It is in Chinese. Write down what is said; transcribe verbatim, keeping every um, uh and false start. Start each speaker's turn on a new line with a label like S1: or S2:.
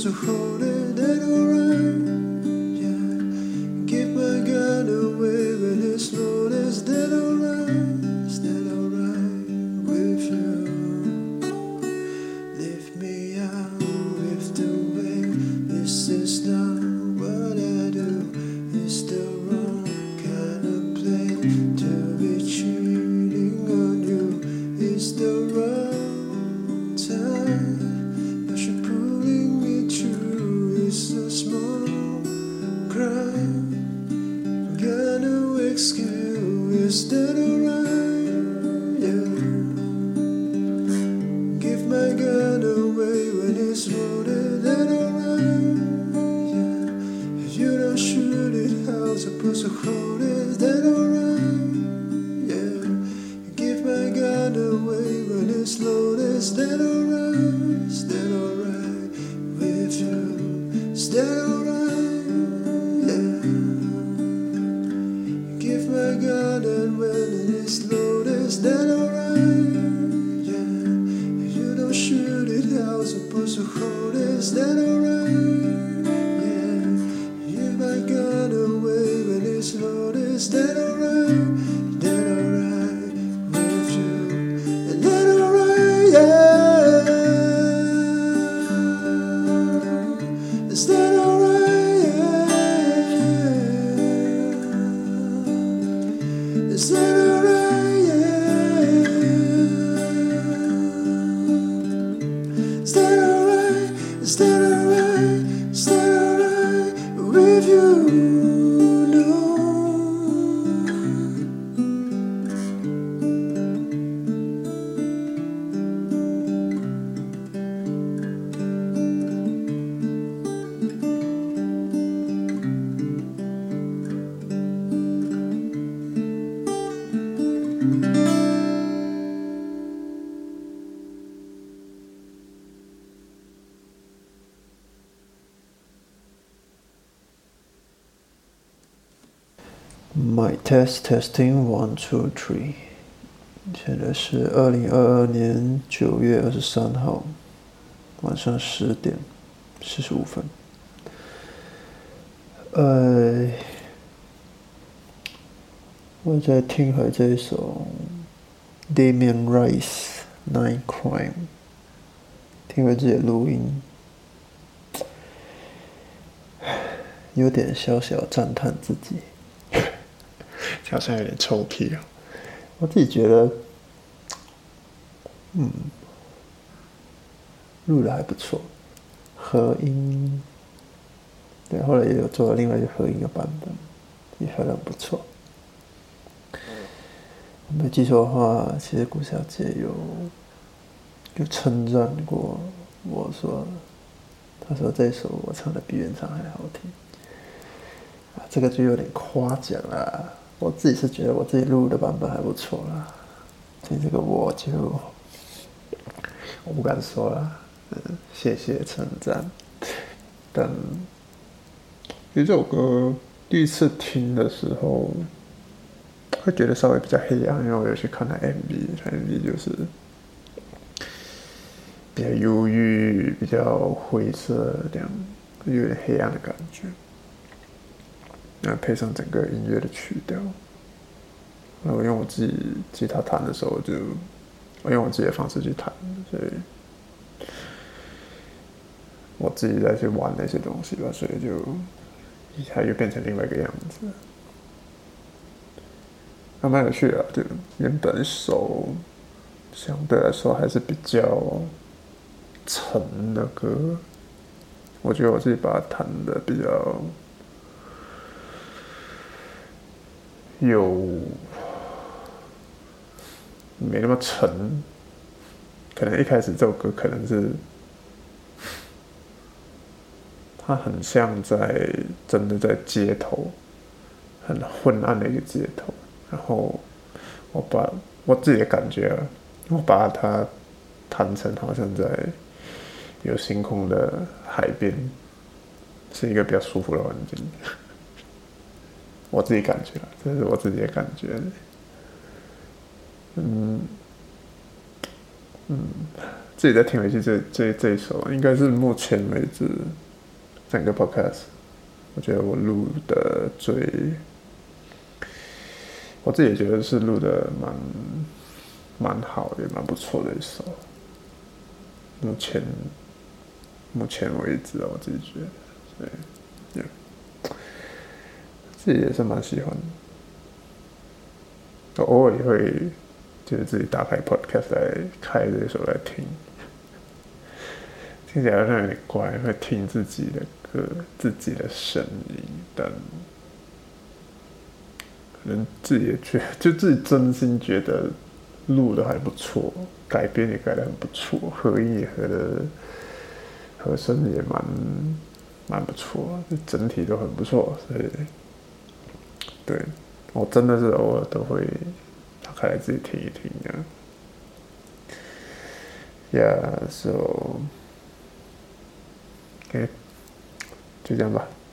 S1: to hold it, that alright? Yeah, give my gun away when it's loaded, is that alright? Is that alright with you? Leave me out with the way this is not what I do. It's the wrong kind of play to be cheating on you. It's the wrong time, but you're pulling me through. It's a small crime, got no excuse. Is that alright? Yeah, give my gun away when it's loaded. That alright? Yeah, if you don't shoot it, how's I supposed to hold it? Is that alright? Yeah, give my gun away when it's loaded. Is that alright? Is that alright with you? Is that alright? Yeah, give my gun and when it is loaded. Is that alright? Yeah, if you don't shoot it, how I'm supposed to hold it? Is that alright? Yeah, give my gun away when it's loaded. Is that alright? Is that alright with you? Is that alright? Yeah, is that alright? Yeah, is that alright? Yeah, is that alright? Is that alright? Is that alright with you? No. My test testing one two three， 现在是二零二二年九月二十三号晚上十点四十五分。呃，我在听回这一首 Damien Rice Nine Crime， 听回自己的录音，有点小小赞叹自己。好像有点臭屁哦，我自己觉得，嗯，录的还不错，合音，对，后来也有做了另外一个合音的版本，也合得很不错。我没记错的话，其实顾小姐有有称赞过我说，她说这首我唱的比原唱还好听，啊，这个就有点夸奖啦。我自己是觉得我自己录的版本还不错啦，所以这个我就我不敢说啦，嗯，谢谢称赞。但其实这首歌第一次听的时候，会觉得稍微比较黑暗，因为我有去看它 M V，M V 就是比较忧郁、比较灰色这样，有点黑暗的感觉。那配上整个音乐的曲调，那我用我自己吉他弹的时候就，我用我自己的方式去弹，所以我自己再去玩那些东西吧，所以就它又变成另外一个样子，还蛮有趣的。就原本手相对来说还是比较沉的歌，我觉得我自己把它弹的比较有没那么沉，可能一开始这首歌可能是它很像在真的在街头，很昏暗的一个街头，然后我把我自己的感觉，我把它弹成好像在有星空的海边，是一个比较舒服的环境。我自己感觉，这是我自己的感觉。嗯， 自己再听回去这这这一首，应该是目前为止整个 podcast， 我觉得我录的最，我自己也觉得是录的蛮蛮好，也蛮不错的一首。目前目前为止，我自己觉得，对， yeah， 自己也是蛮喜欢的。偶尔也会就是自己打开 podcast 来开这首来听。听起来好像有点怪，会听自己的歌、自己的声音，但可能自己也觉得，就自己真心觉得录的还不错，改编也改的很不错，合音也合的，和声也蛮蛮不错，整体都很不错，所以对我真的是偶尔都会打开来自己听一听啊。Yeah, so. OK， 就这样吧。